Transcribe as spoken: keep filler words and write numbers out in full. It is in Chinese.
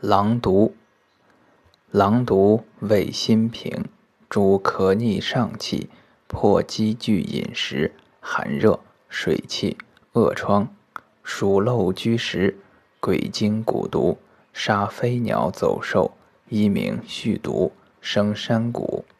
狼毒，狼毒味辛平，主咳逆上气，破积聚饮食，寒热、水气、恶疮，属漏居食，鬼精蛊毒，杀飞鸟走兽，一名续毒，生山谷。